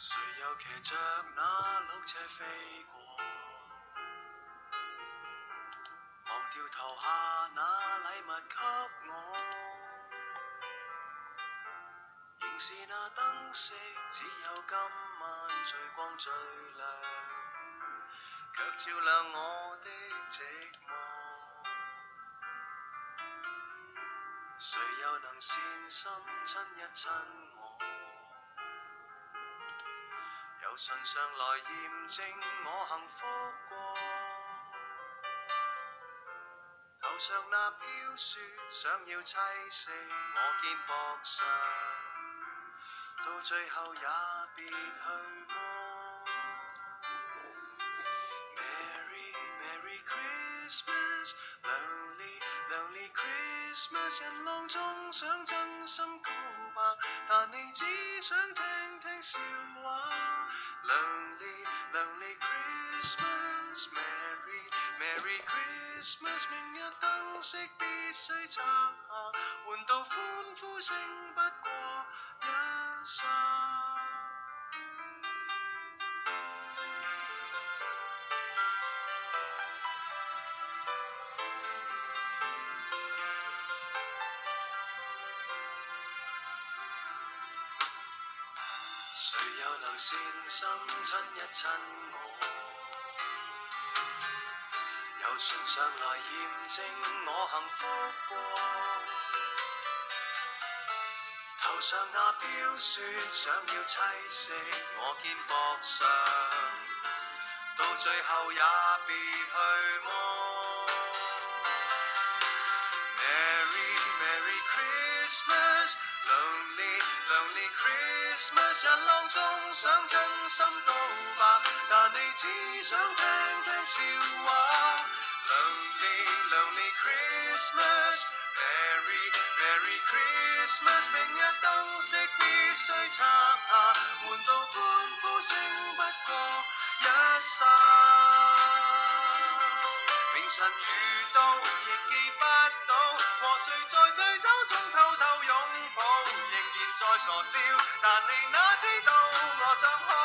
谁又骑着那鹿车飞过？忘掉投下那礼物给我，仍是那灯饰，只有今晚最光最亮，却照亮我的寂寞。谁又能善心亲一亲我？由唇上来验证我幸福过。头上那飘雪想要栖息我肩膊上，到最後也別去麼 Merry Merry Christmas Lonely Lonely Christmas 人浪中想真心告白，但你只想聽聽笑話 Lonely Lonely Christmas Merry Merry Christmas 明日燈飾必須拆下，換到歡呼聲不過一剎。誰又能善心親一親我？由唇上來驗證我幸福過。頭上那飄雪想要棲息我肩膊上，到最後也別去麼 Merry Merry Christmas Lonely Lonely Christmas 人浪中想真心告白，但你只想聽聽笑話 Lonely Lonely Christmas Merry Merry Christmas 明日燈飾必須拆下，換到歡呼聲不過一剎。明晨遇到亦記不到，和誰在醉酒中偷偷擁抱，仍然在傻笑，但你哪知道我想好。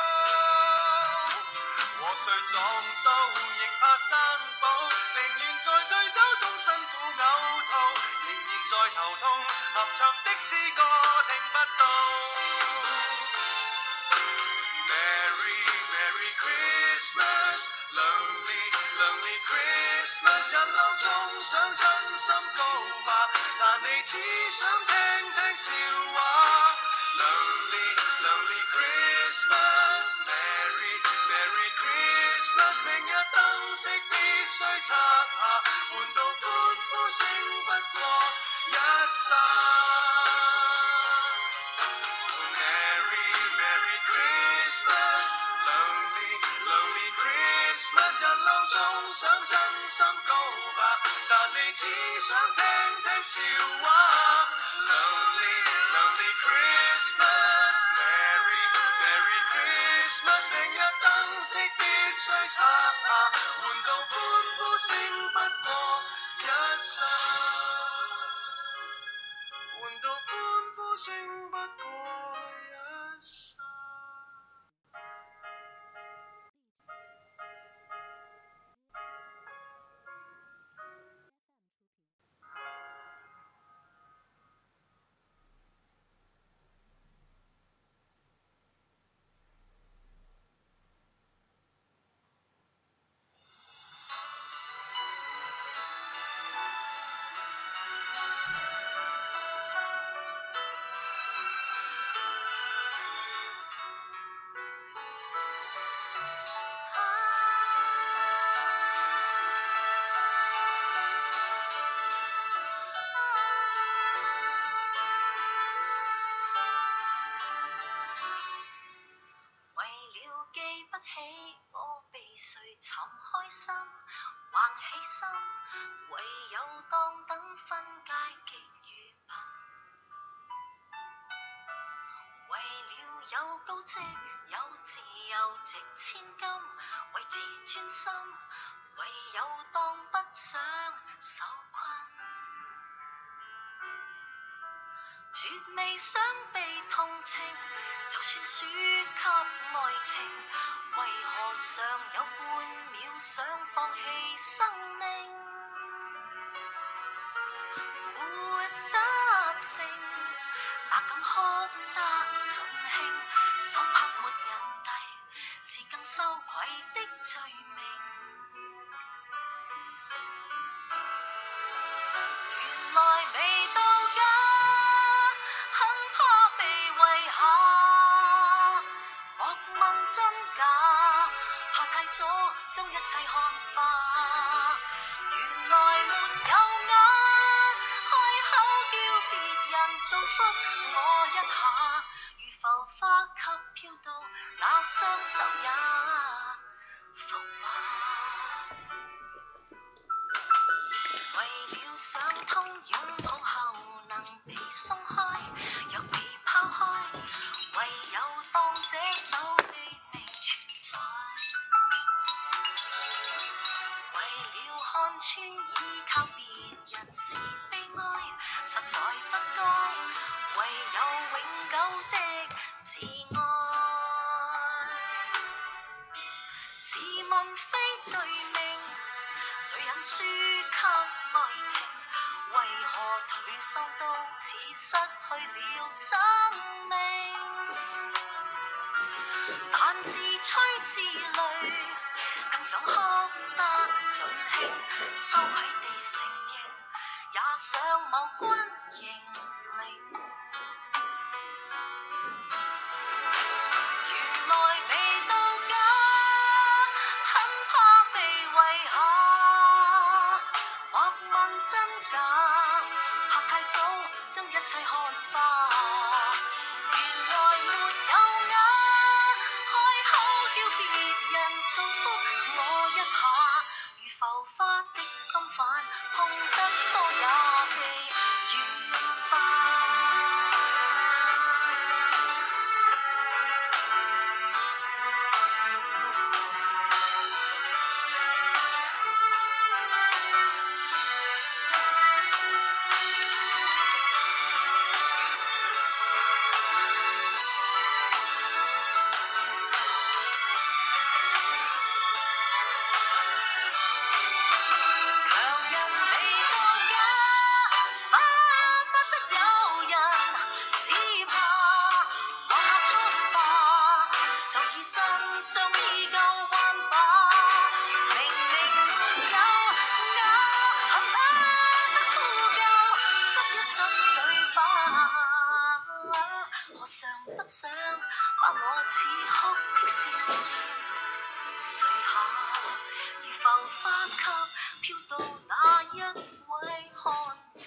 和誰撞到亦怕生保，寧願在醉酒中辛苦嘔吐，仍然在頭痛，合唱的詩歌聽不到。Merry Merry Christmas Lonely Lonely Christmas 人浪中想真心告白，但你只想聽聽笑話 Lonely Lonely Christmas Merry Merry Christmas 明日燈飾必須拆下，換到歡呼聲不過一剎。Merry Merry Christmas Lonely Lonely Christmas 人浪中想真心告白，但你只想聽聽笑話 Lonely Lonely Christmas Merry Merry Christmas 明日燈飾必須拆下，換到歡呼聲不過一剎，換到歡呼聲不過一剎。 有高職，有自由值千金，為自專心，唯有當不想受困。 絕未想被同情，就算輸給愛情，為何尚有半秒想放棄生命？活得勝，哪敢哭得盡興？手拍沒人遞，是更羞愧的罪名。原來未到家，很怕被遺下。莫問真假，怕太早將一切看化。原來沒有眼，開口叫別人祝福我一下，如浮花給飄到那雙手也浮華。為了想通擁抱後能被鬆開，若被拋開，唯有當這手臂未存在。為了看穿依靠別人是悲哀，實在不該，唯有永久的自愛。自問非罪名，女人輸給愛情，為何頹喪到似失去了生命？但自吹自擂，更想哭得盡興，羞愧地承認，也想某君認領。原來未到家，很怕被遺下。莫問真假，怕太早將一切看化。原來沒有眼，開口叫別人祝福我一下，如浮花的心瓣，碰得多也被軟化。不想把我似哭的笑臉垂下，如浮花給飄到那一位看就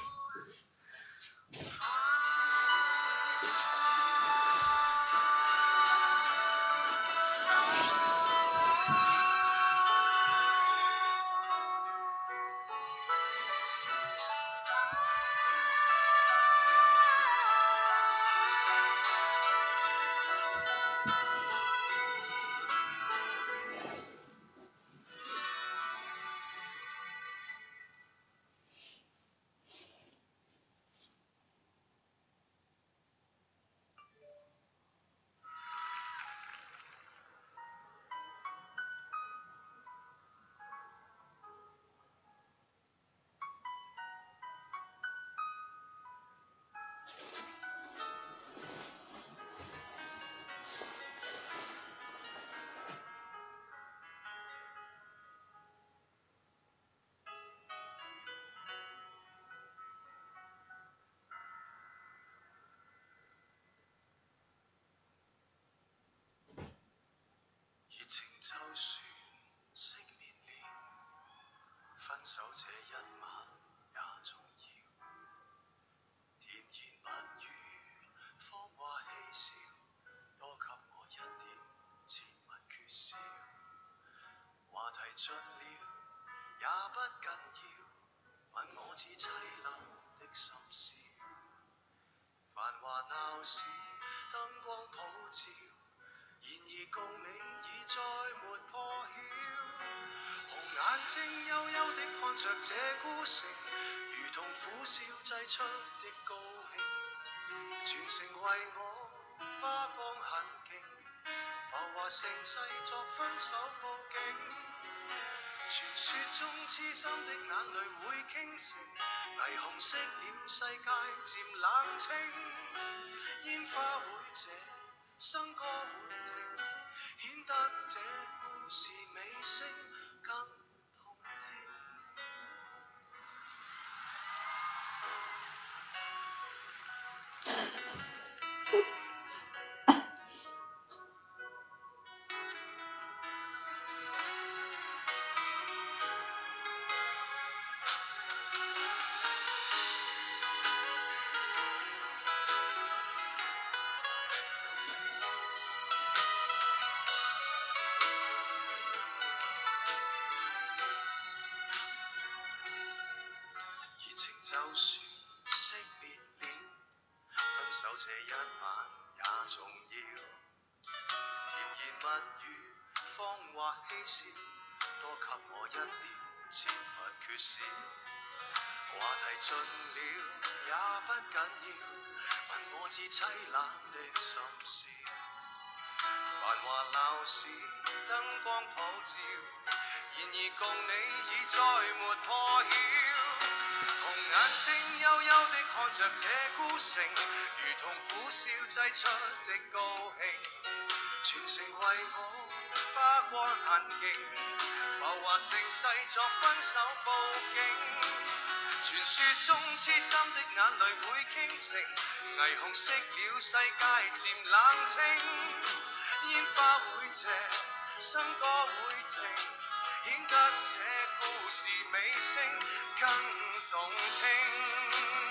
熱情就算熄滅了，分手這一晚也重要。甜言蜜語，謊話嬉笑，多給我一點切勿缺少。話題盡了也不緊要，問我似凄冷的心事。繁華鬧市，燈光普照。然而共你已再沒破曉，紅眼睛幽幽的看着這孤城，如同苦笑擠出的高興。 全城為我花光痕徑，浮華盛世作分手報警。傳說中痴心的眼淚會傾城，霓虹熄了世界漸冷清，煙花會謝，笙歌會停，顯得這故事尾聲更動聽。就算熄滅了，分手這一晚也重要。甜言蜜語，謊話嬉笑，多給我一點切勿缺少。話題盡了也不緊要，問我至凄冷的心事。繁華鬧市，燈光普照，然而共你已再沒破曉。紅眼睛幽幽的看着這孤城，如同苦笑擠出的高興。全城為我花光痕跡，浮華盛世作分手報警。傳說中痴心的眼淚會傾城，霓虹熄了世界漸冷清，煙花會謝，笙歌會停，顯得這故事尾聲更動聽。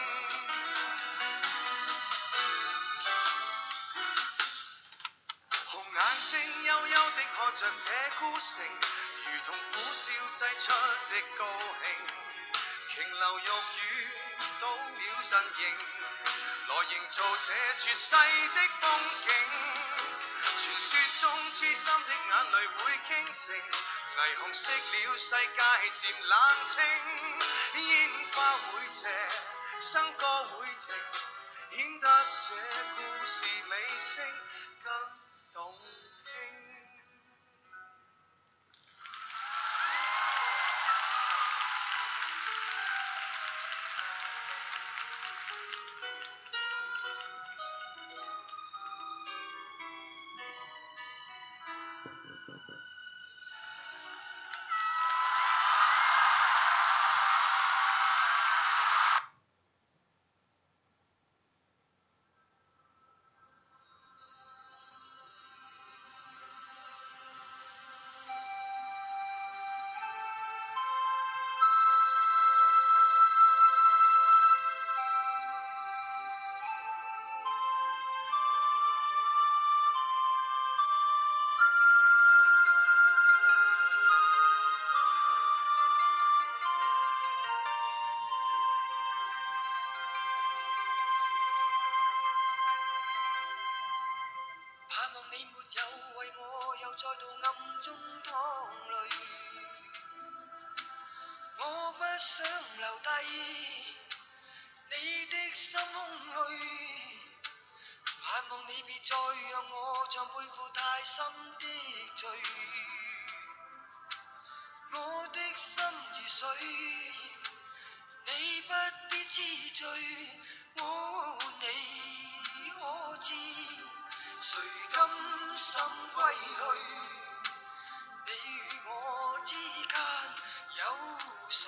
紅眼睛幽幽地看着這孤城，如同苦笑擠出的高興。瓊樓玉宇倒了陣營，來營造這絕世的風景。傳說中痴心的眼淚會傾城，霓虹熄了世界漸冷清，煙花會謝，笙歌會停，顯得這故事尾聲更動聽。盼望你沒有為我又再度暗中淌淚，我不想留低你的心空虛，盼望你別再讓我像背負太深的罪，我的心如水，你不必知罪，你可知誰甘心歸去？你與我之間有誰？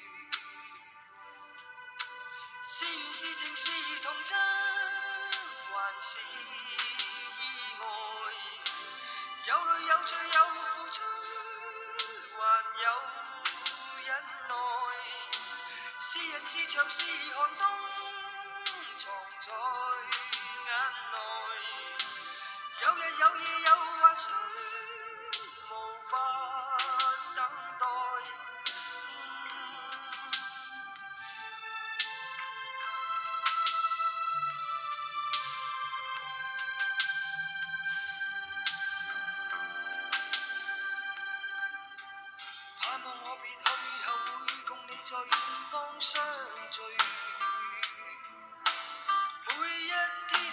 是緣是情是童真，還是意外？有淚有罪有付出，還有忍耐。是人是牆是寒冬，藏在眼內。有日有夜有幻想，無法等待。盼望我別去後會共你在遠方相聚，每一天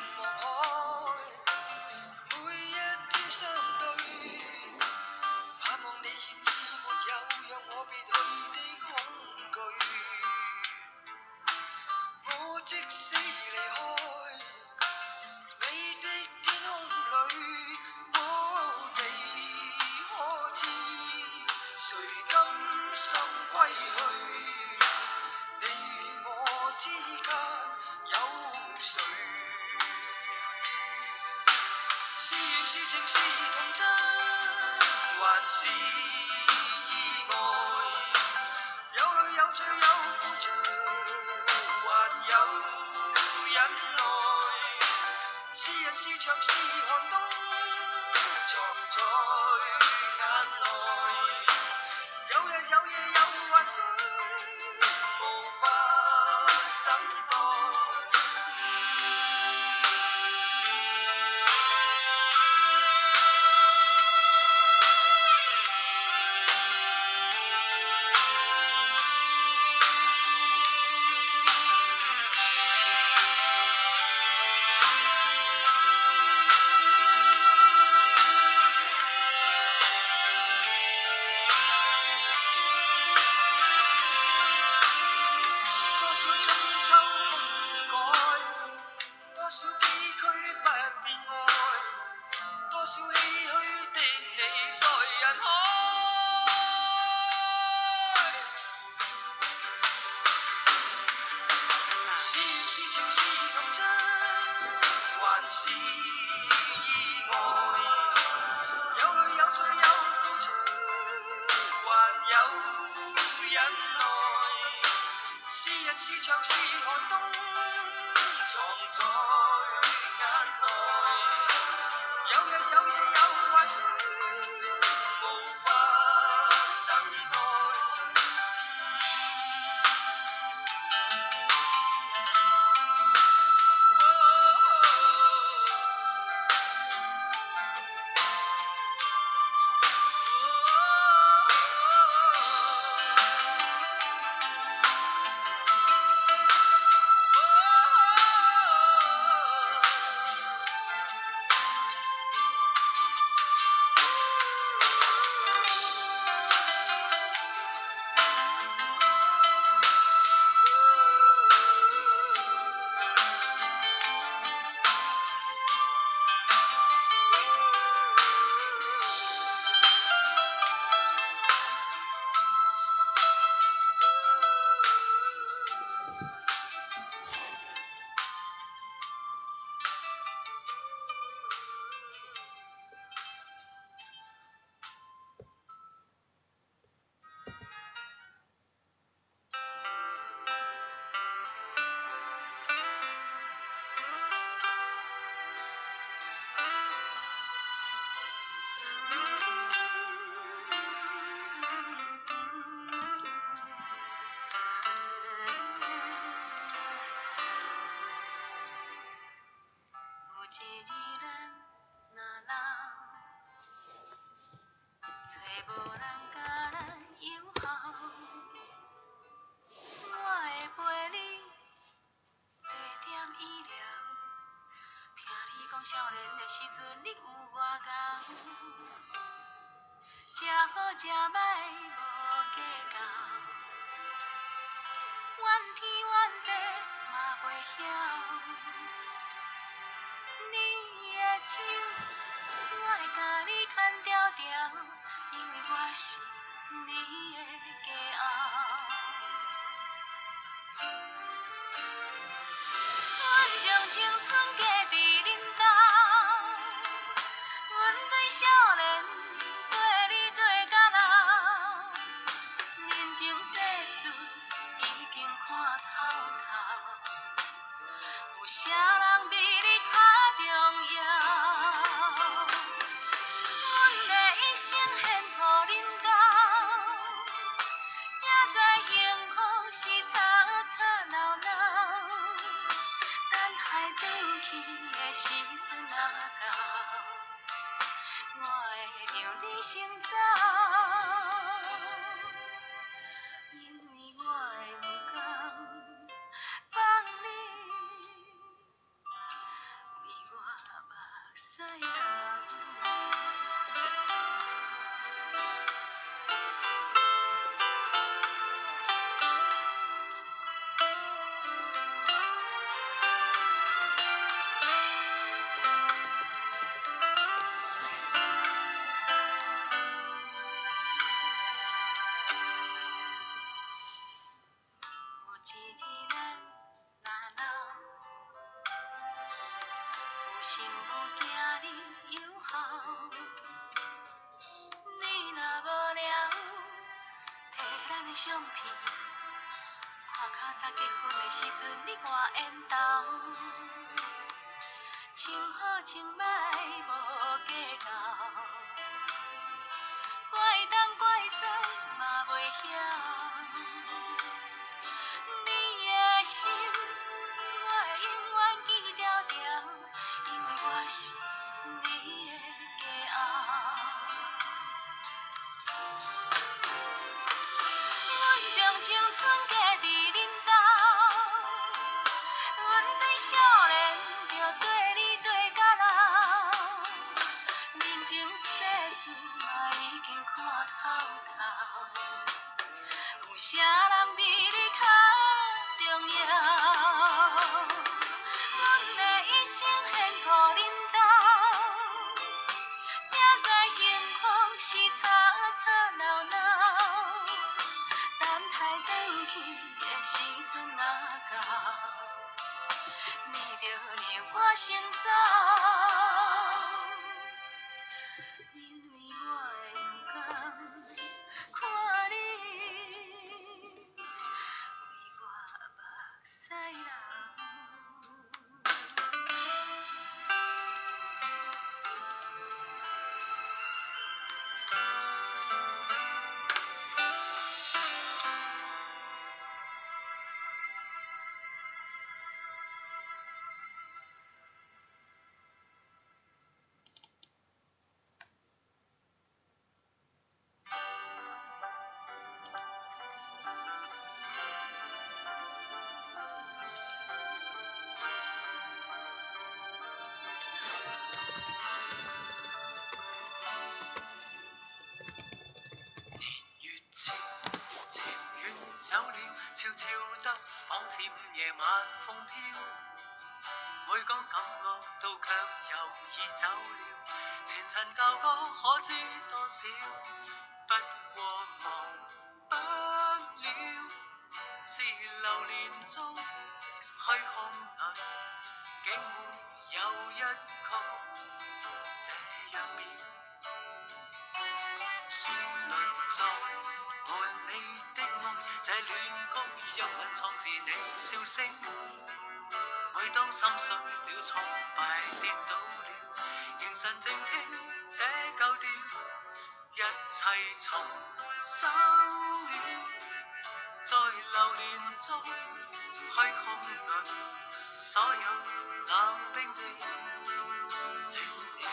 情是童真，還是意外？有淚有罪有付出，還有忍耐。是人是牆是寒冬，藏在眼內。有日有夜有幻想，無法等待。是牆是寒冬，藏在眼內。有日有夜有幻想，無法等待。少年的时阵，你有外戆，食好食歹无计较，怨天怨地嘛袂晓。你的手，我会甲你牵条条，因为我是你的骄傲。阮将青春加伫恁兜，阮对少年对你做甲老，人情世事已经看透透，有啥人比你较重要？阮的一生献予恁兜，才知幸福是吵吵闹闹。等海倒去的时阵若到，我会让你先走，因为我会不甘放你为我目屎流。心不惊你友好， 相片，看较早结婚的时阵，你我缘投，穿好穿歹无计较，怪东怪西嘛袂晓。你的心，我会永远记牢牢，因为我是你的骄傲。阮将青春嫁伫恁兜，阮对少年就对你对到老，人情世事嘛已经看透透，有啥人比你较重要？阮的一生献乎恁兜，才知幸福是吵吵闹闹。等待转去的时阵若到，你着令我先走，因为我会不甘看你为我目屎流。 走了，悄悄得仿似午夜晚風飄，每講感覺到卻猶已走了，前塵舊歌可知多少，不過忘不了，是流年中虛空裏，竟會有一曲這樣妙，旋律在換你的愛，這戀曲一吻創自你笑聲。每當心碎了、挫敗跌倒了，凝神靜聽這舊調，一切重生了。在流年中虛空裏，所有冷冰的亂了。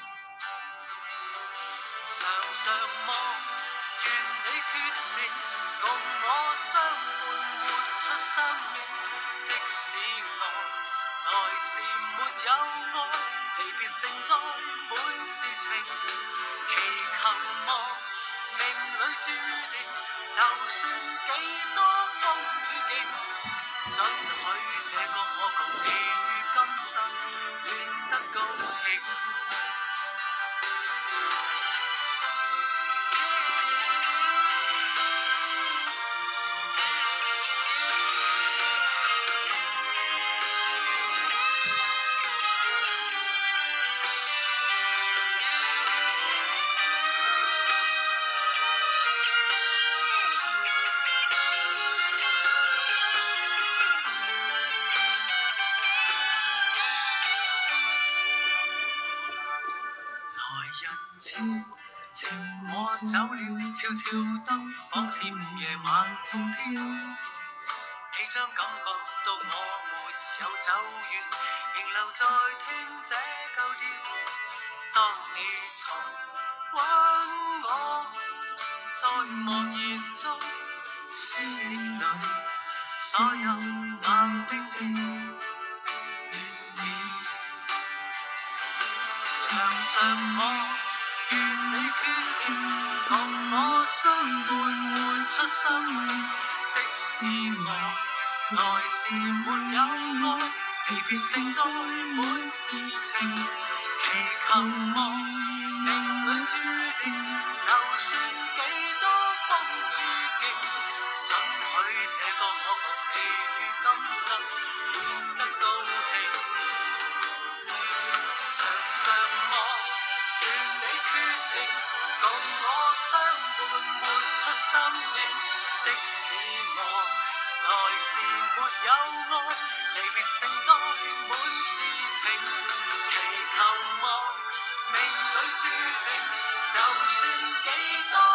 常常望願你決定共我相伴活出生命，即使我來時沒有愛，離別盛載滿是情，祈求望命裏注定，就算幾多風雨勁，准許這個我共你於今生戀得高興。情我走了，悄悄得仿似午夜晚風飄，你將感覺到我沒有走遠，仍留在聽這舊調。當你重溫我，在茫然中思憶裏，所有冷冰的亂了。常常望願你決定共我相伴活出生命，即使我來時沒有愛，離別盛載滿是情，祈求望命裏注定，就算幾多風雨勁，准許這個我共你於今生戀得高興。常常望願你決定共我相伴活出生命， 即使我來時沒有愛，離別承載滿是情，祈求望命裏注定，就算幾多